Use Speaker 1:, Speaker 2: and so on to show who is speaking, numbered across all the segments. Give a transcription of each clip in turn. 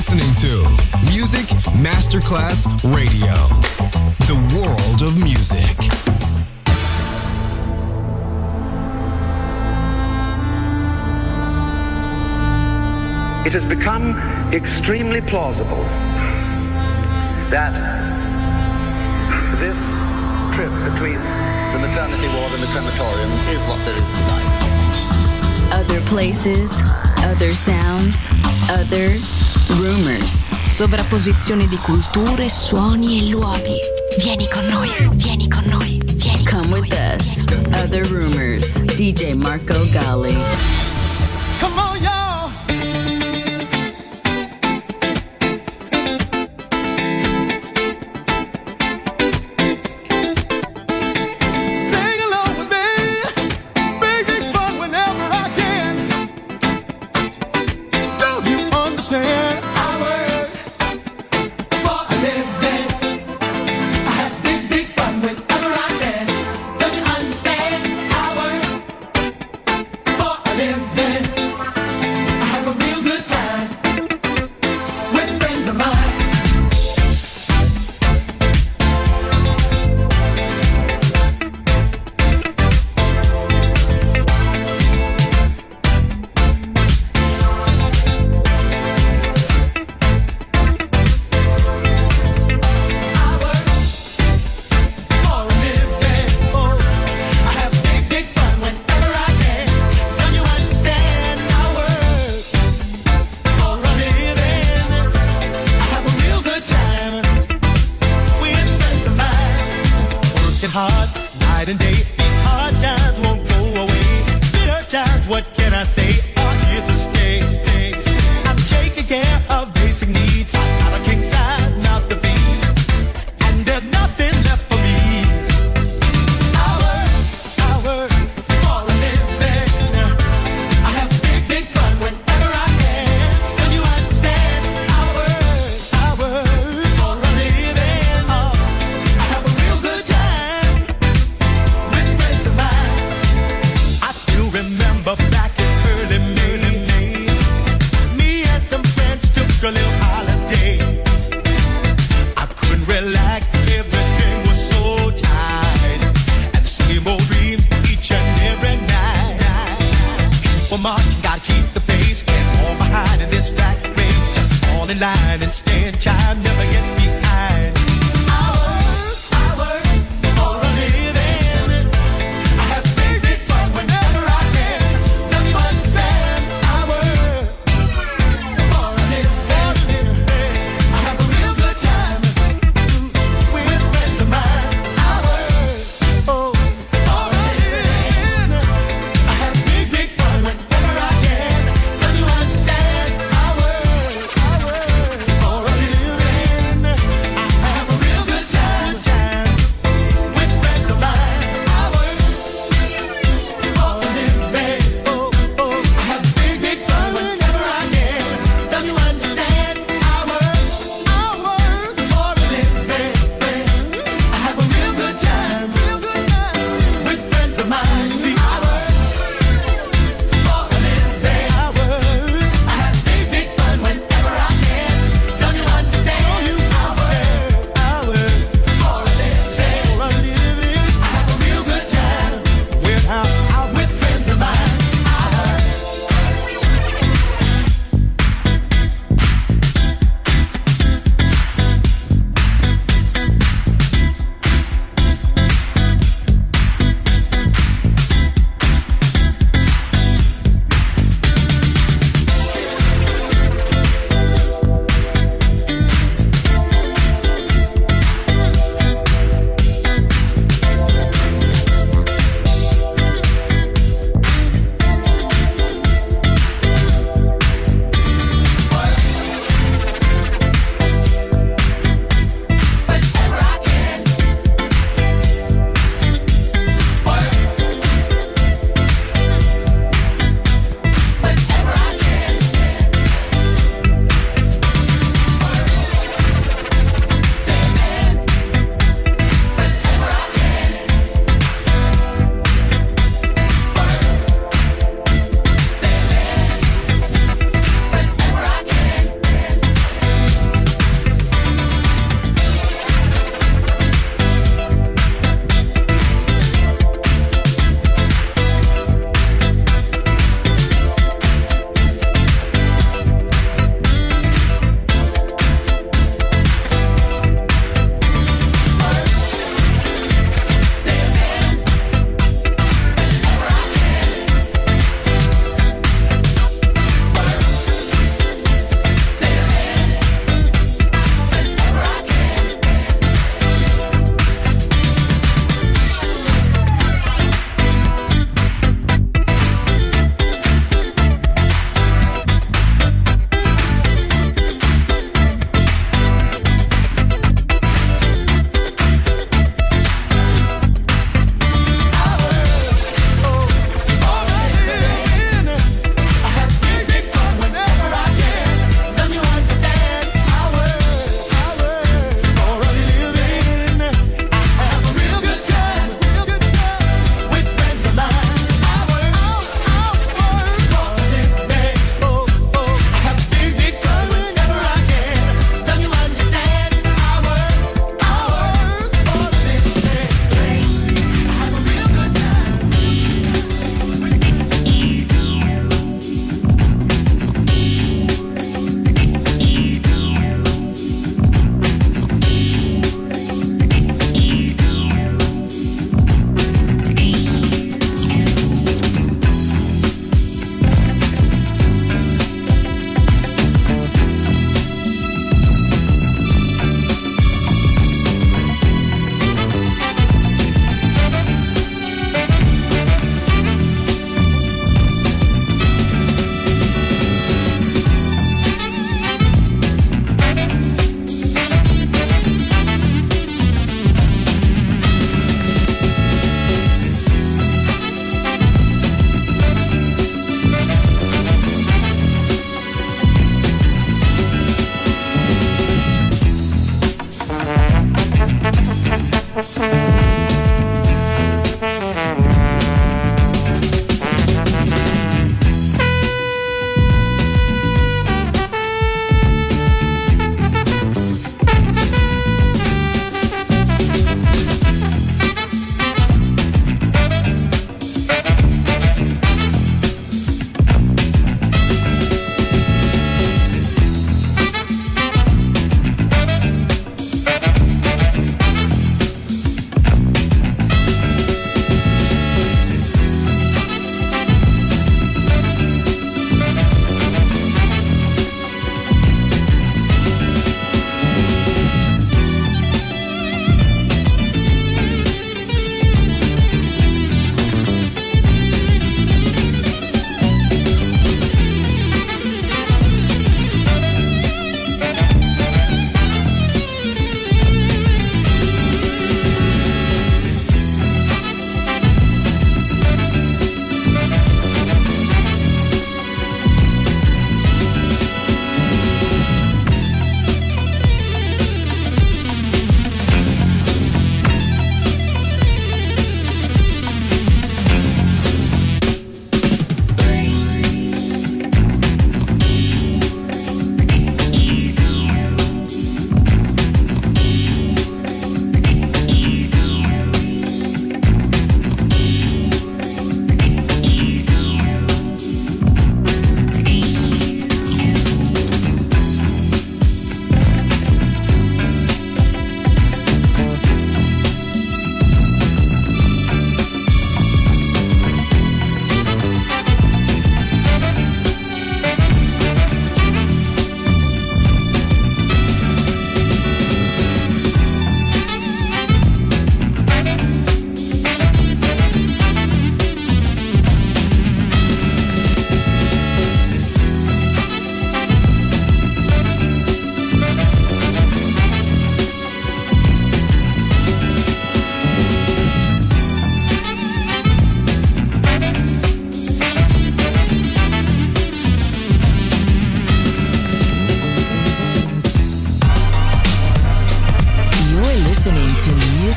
Speaker 1: listening to Music Masterclass Radio, the world of music.
Speaker 2: It has become extremely plausible that this trip between the maternity ward and the crematorium is what there is tonight.
Speaker 3: Other places, other sounds, other rumors. Sovrapposizione di culture, suoni e luoghi. Vieni con noi, vieni con noi, vieni con noi. Come with us. Other rumors. DJ Marco Gally.
Speaker 4: Come on, y'all.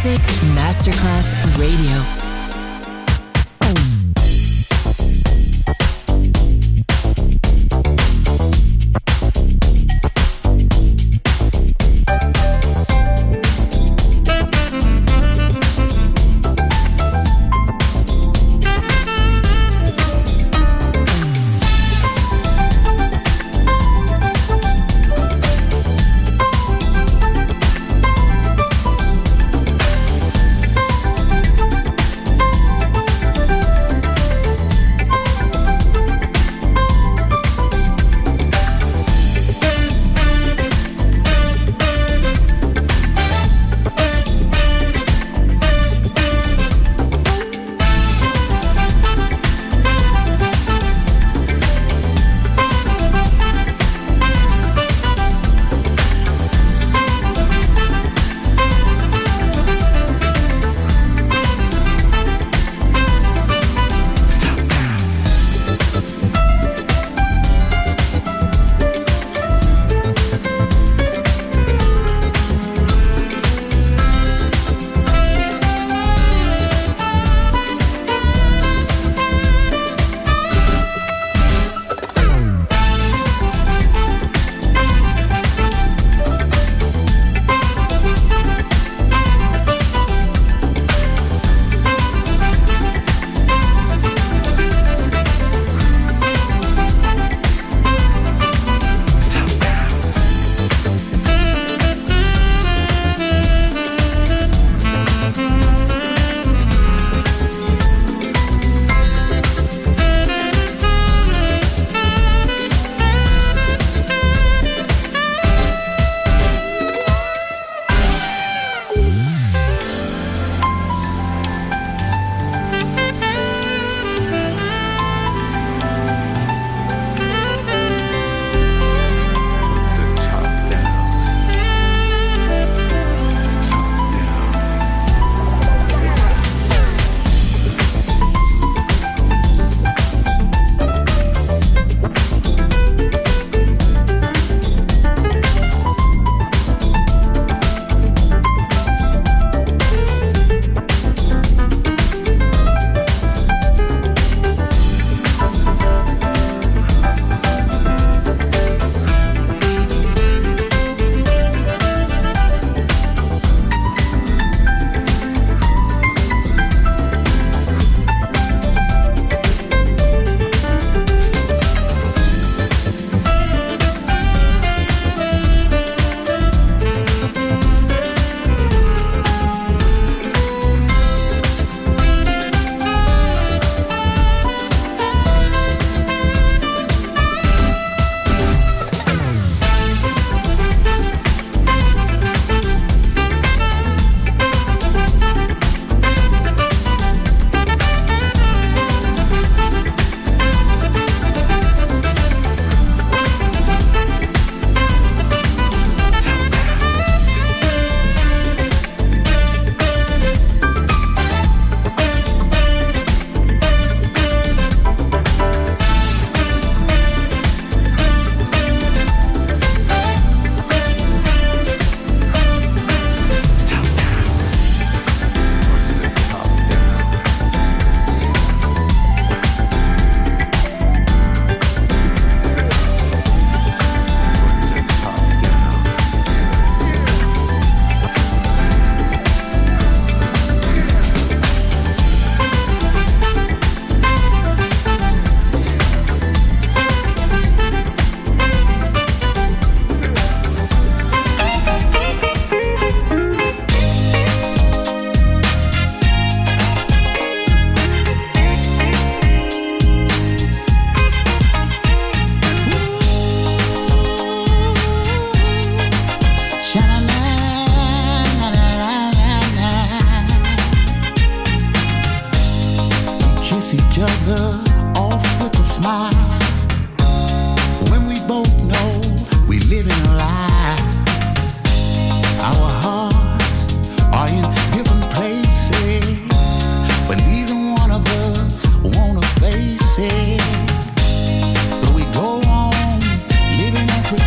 Speaker 3: Music Masterclass Radio.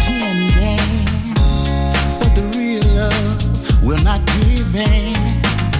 Speaker 5: will not give in.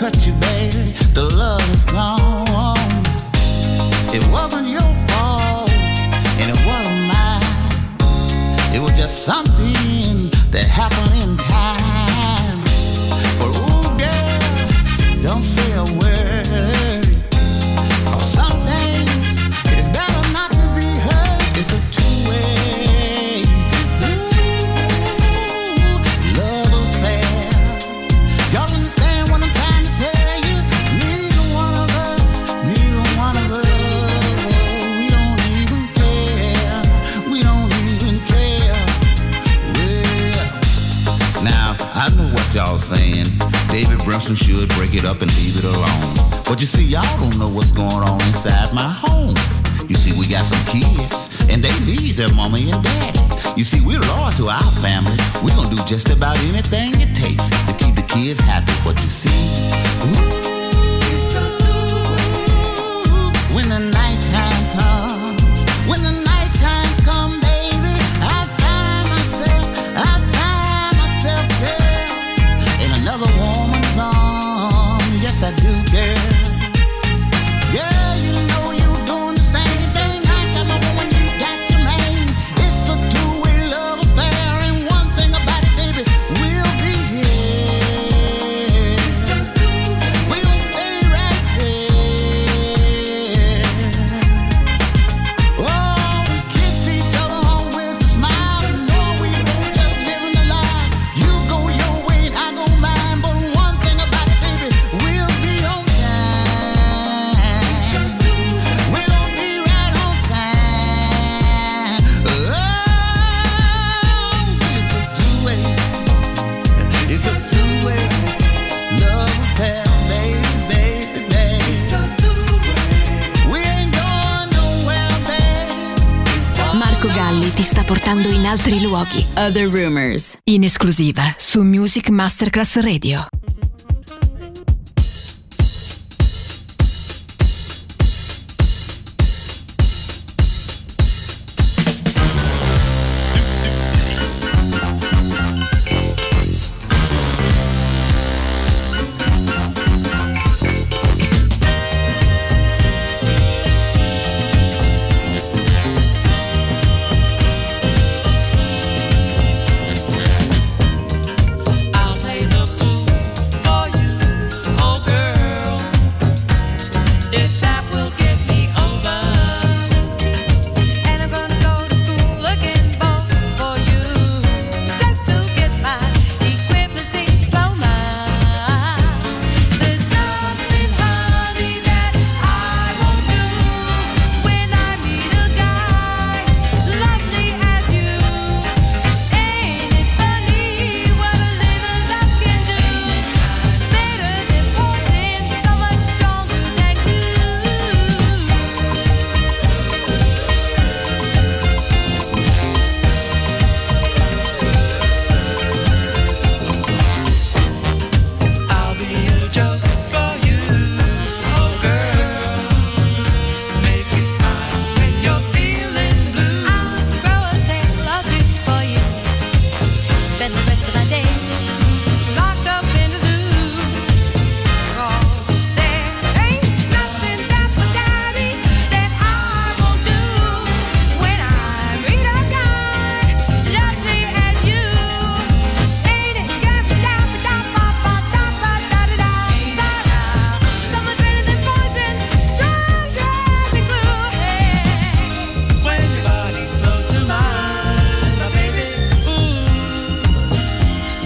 Speaker 5: cut you, baby. The love is gone. It wasn't your fault, and it wasn't mine. It was just something that happened in time. But ooh, girl, don't say a word. 'Cause some things it's better not to be heard. It's a two-way. It's a two-way love affair. Y'all understand what I'm trying to tell you? Neither one of us, we don't even care. We don't even care. Well, now I know what y'all saying. David Brunson should break it up and leave it alone. But you see, y'all don't know what's going on inside my home. You see, we got some kids, and they need their mommy and daddy. You see, we're loyal to our family. We're gonna do just about anything it takes to keep the kids happy. But you see, when the nighttime comes, when the nighttime come, baby, I find myself there in another woman's arms. Yes, I do, girl. Yeah, you know you're doing the same thing. I got my woman, you got your man. It's a two-way love affair, and one thing about it, baby, we'll be here. We'll stay right there. Oh, we kiss each other on with a smile, and know we both just living the life. You go your way and I go mine, but one thing about it, baby, we'll be on time. We're gonna be right on time. Oh, it's a two-way love affair, baby, baby. We ain't going nowhere, baby.
Speaker 3: Marco Galli ti sta portando in altri luoghi. Other Rumors, in esclusiva su Music Masterclass Radio.
Speaker 6: I'll play the fool for you, oh girl, if that will get me over. And I'm gonna go to school looking for you, just to get my equivalency diploma. There's nothing, honey, that I won't do when I meet a guy lovely as you. Ain't it funny what a little love can do? Better than poison, so much stronger than I'll be a joke for you, oh girl. Make you smile when you're feeling blue. I'll grow a tail or two for you. Spend the rest of my day locked up in the zoo. 'Cause there ain't nothing that for daddy that I won't do when I meet a guy lovely as you. Ain't it good? So much better than poison, stronger than glue. When your body's close to mine, my baby, ooh,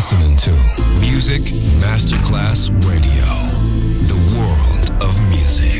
Speaker 1: listening to Music Masterclass Radio, the world of music.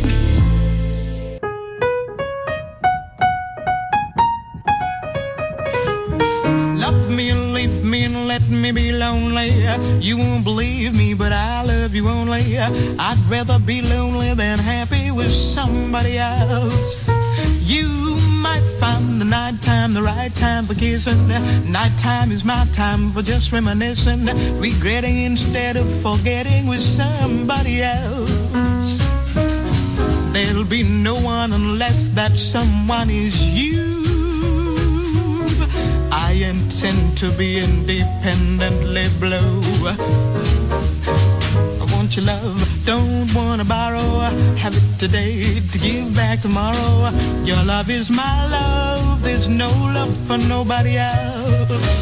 Speaker 7: Love me and leave me and let me be lonely. You won't believe me, but I love you only. I'd rather be lonely than happy with somebody else. You might find the nighttime the right time for kissing. Nighttime is my time for just reminiscing, regretting instead of forgetting with somebody else. There'll be no one unless that someone is you. I intend to be independently blue. I want your love, don't wanna borrow. Have it today to give back tomorrow. Your love is my love, there's no love for nobody else.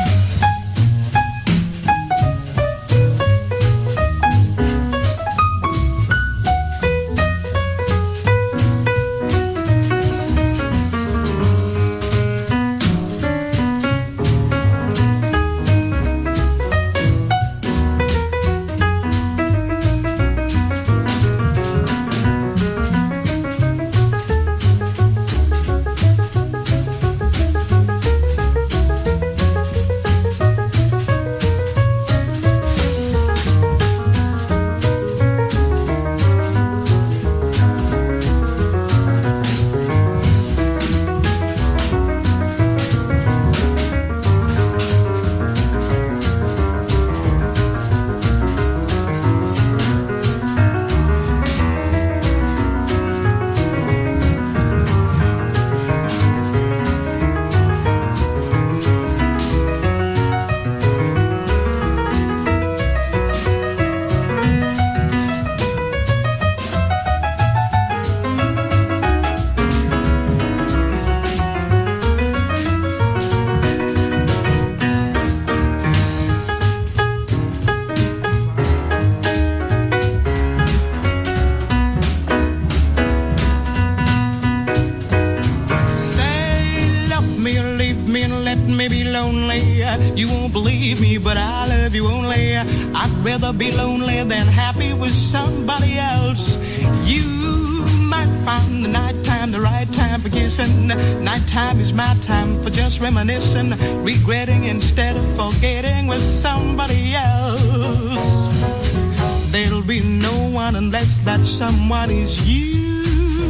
Speaker 7: You won't believe me, but I love you only. I'd rather be lonely than happy with somebody else. You might find the nighttime the right time for kissing. Nighttime is my time for just reminiscing, regretting instead of forgetting with somebody else. There'll be no one unless that someone is you.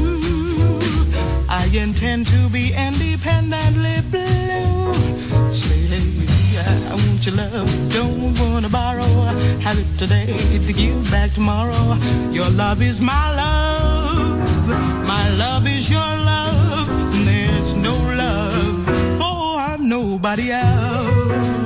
Speaker 7: I intend to be independently blue. I want your love, don't wanna borrow. Have it today to give back tomorrow. Your love is my love is your love. There's no love for nobody else.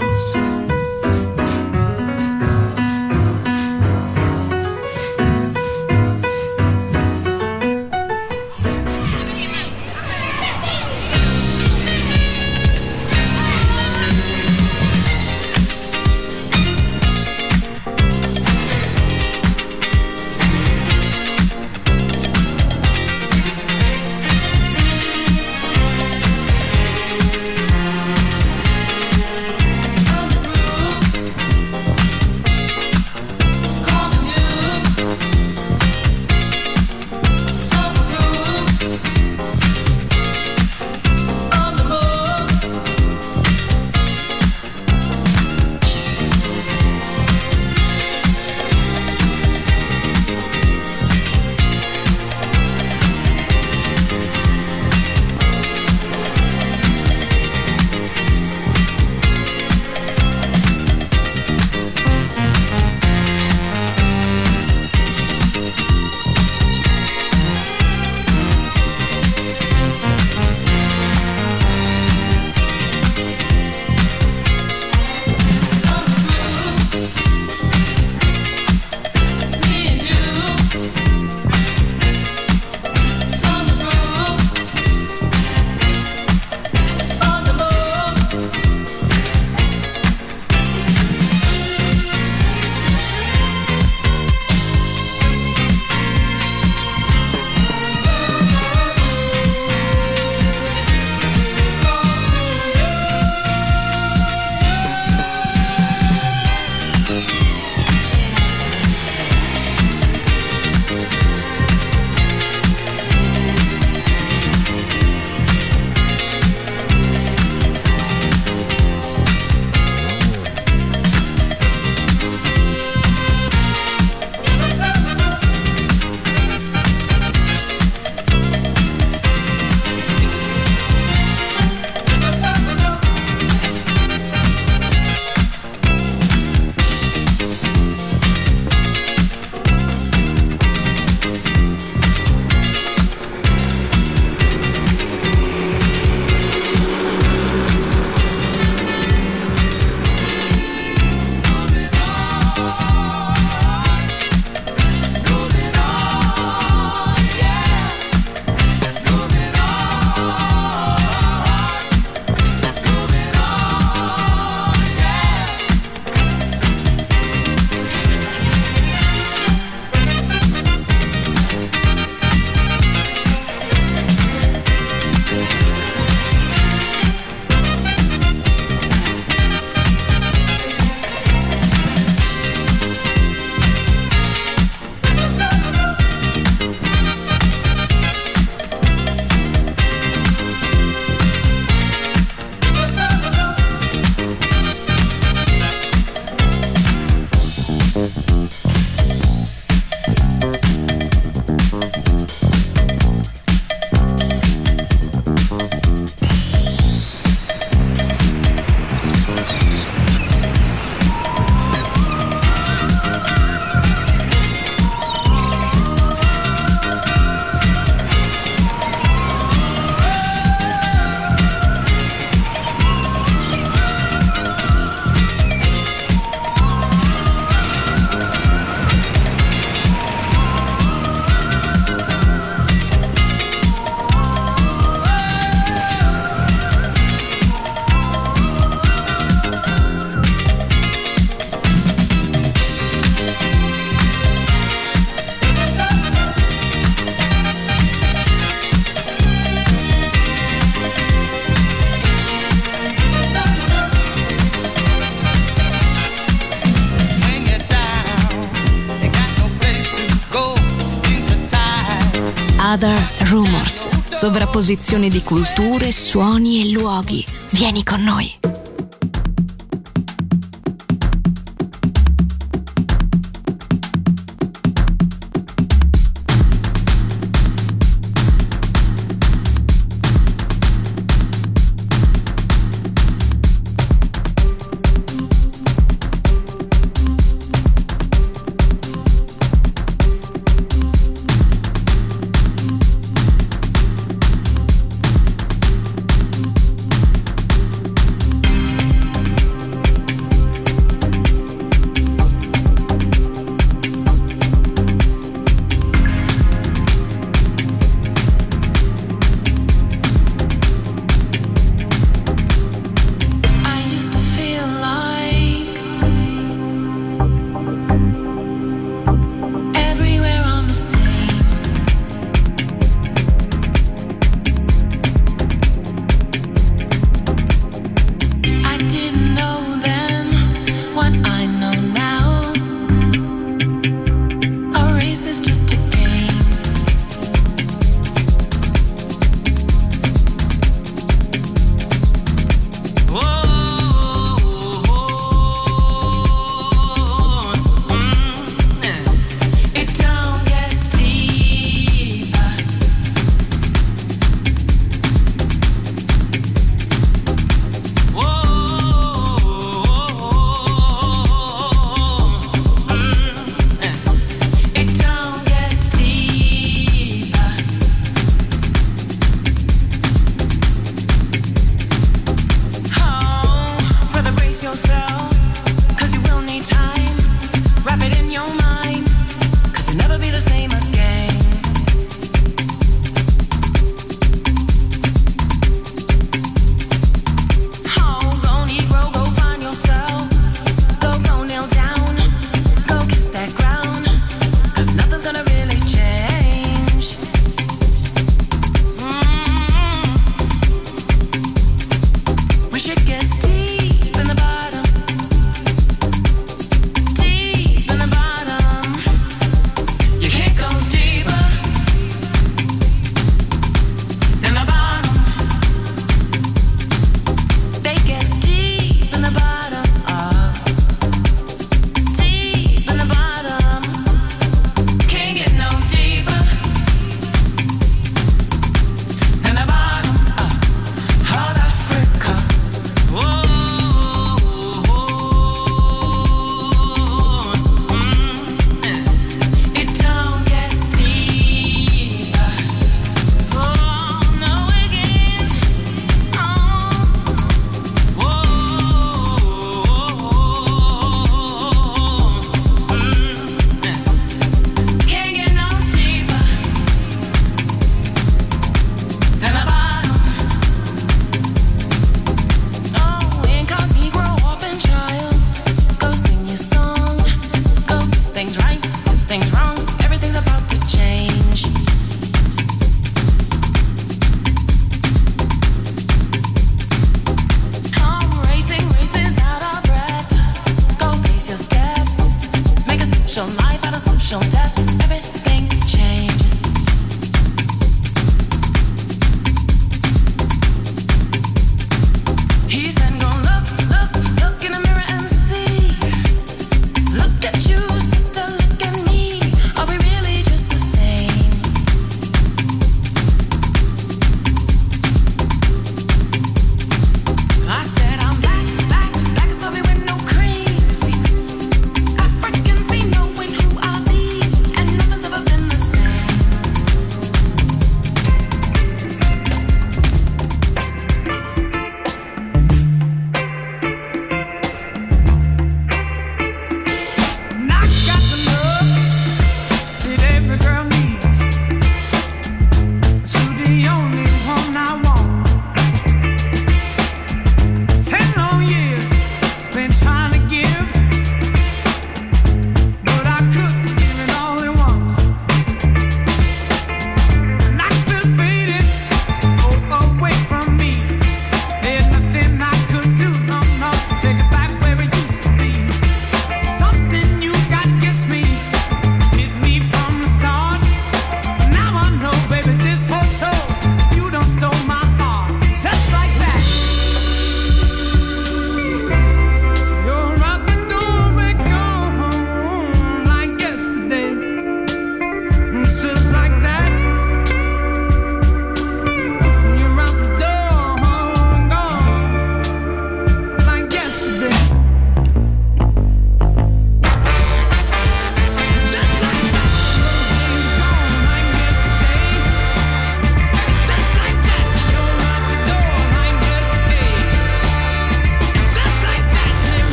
Speaker 3: Other Rumors. Sovrapposizione di culture, suoni e luoghi. Vieni con noi.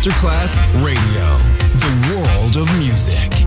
Speaker 1: Masterclass Radio, the world of music.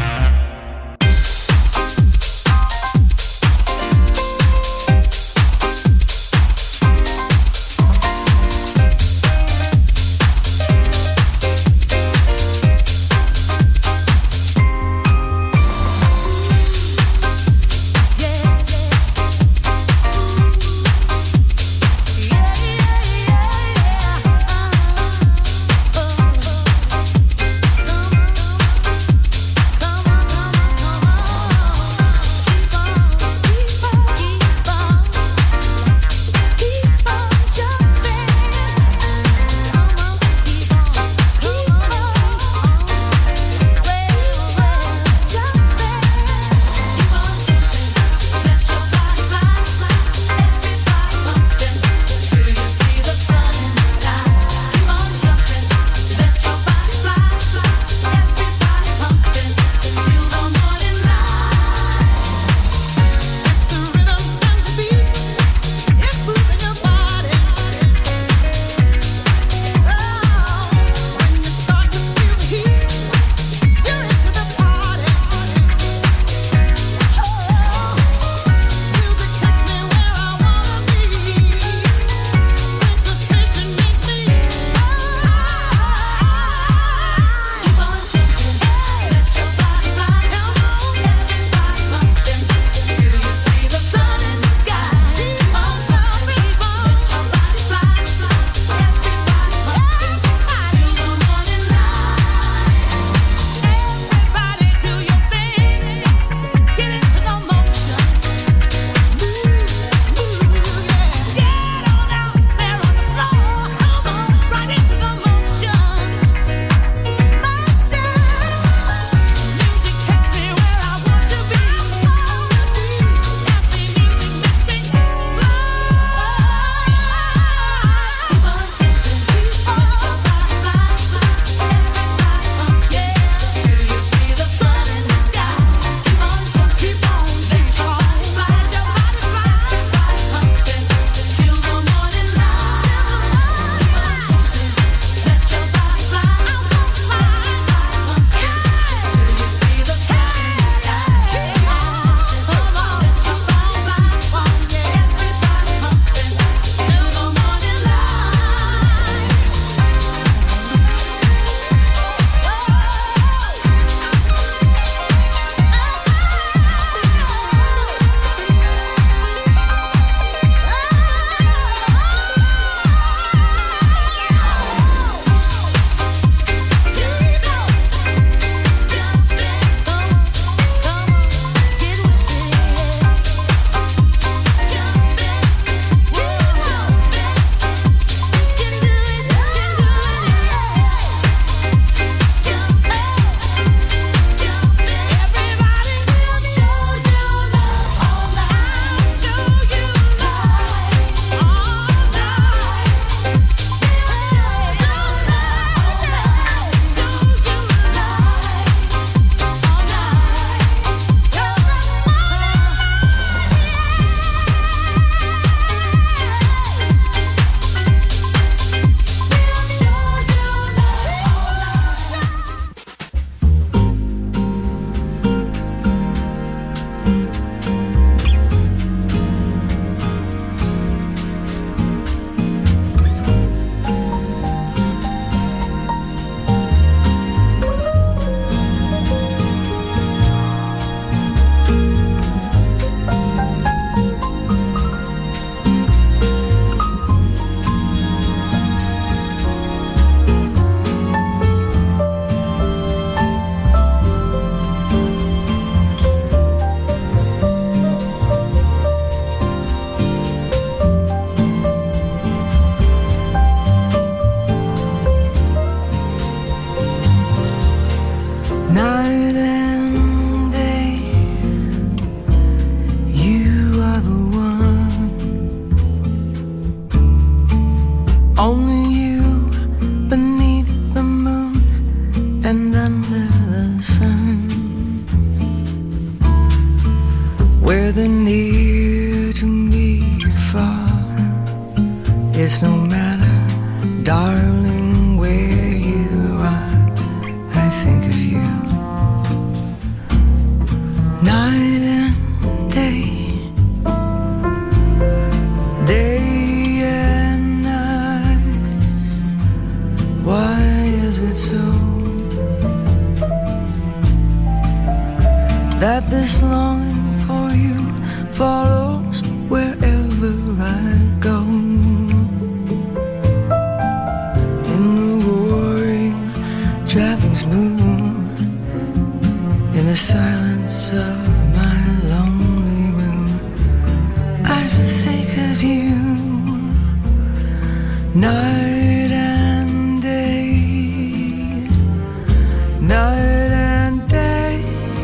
Speaker 8: whether near to me or far, it's no matter, darling, where you night and day, day and night. Why is it so that this longing for you follows wherever I go? In the roaring traffic smooth, in the silence of my lonely room, I think of you night and day, night and day.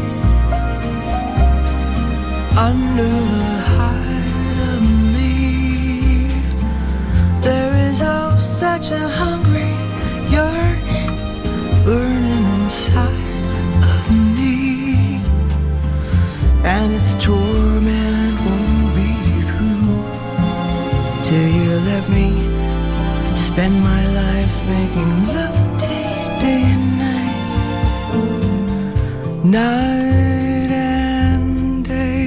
Speaker 8: Under the hide of me, there is oh such a hungry yearning burning inside of me, and its torment won't be through till you let me spend my life making love to you day and night, night and day.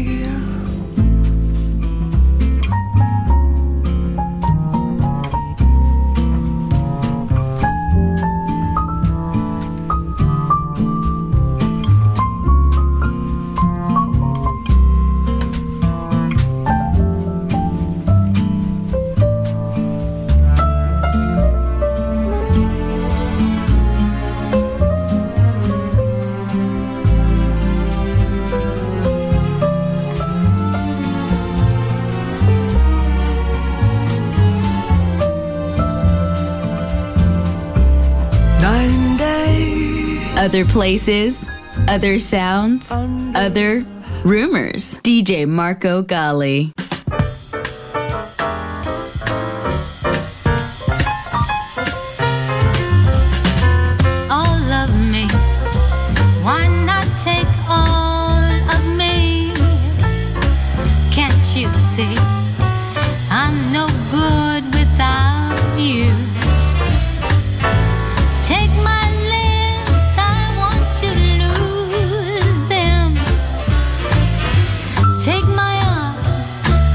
Speaker 8: Night and day.
Speaker 3: Other places, other sounds, other rumors. DJ Marco Gally.
Speaker 9: All of me, why not take all of me? Can't you see I'm no good without you? Take my lips, I want to lose them. Take my arms,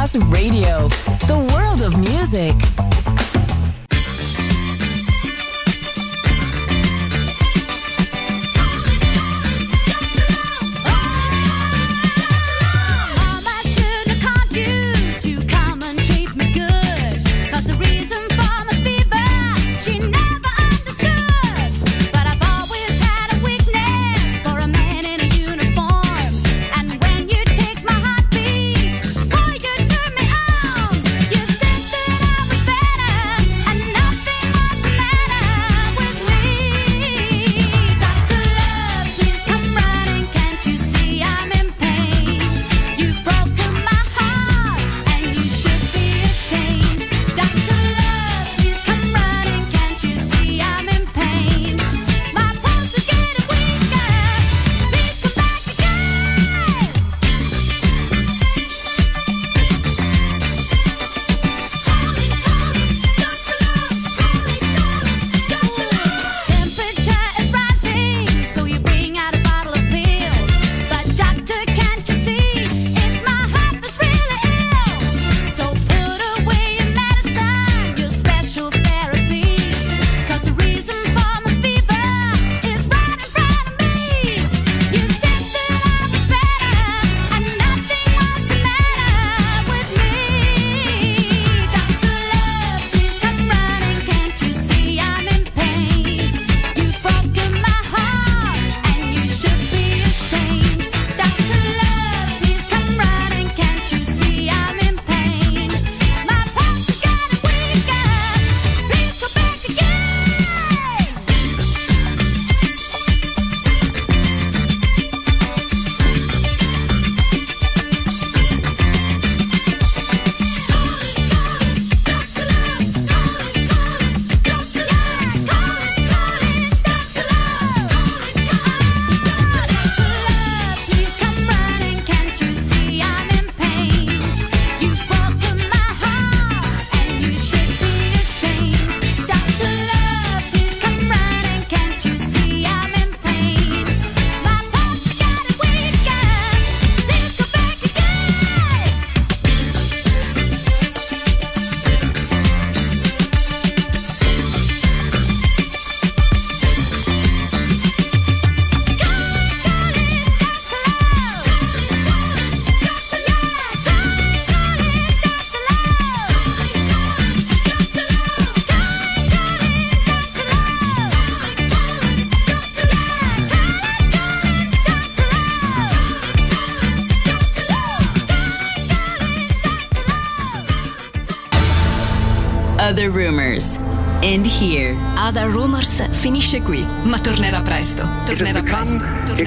Speaker 3: Masterclass Radio, the world of music. Other Rumors. End here. Other Rumors finisce qui, ma tornerà presto. Tornerà presto.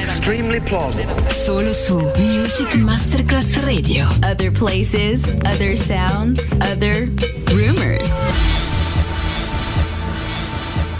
Speaker 3: Solo su Music Masterclass Radio. Other places, other sounds, other rumors.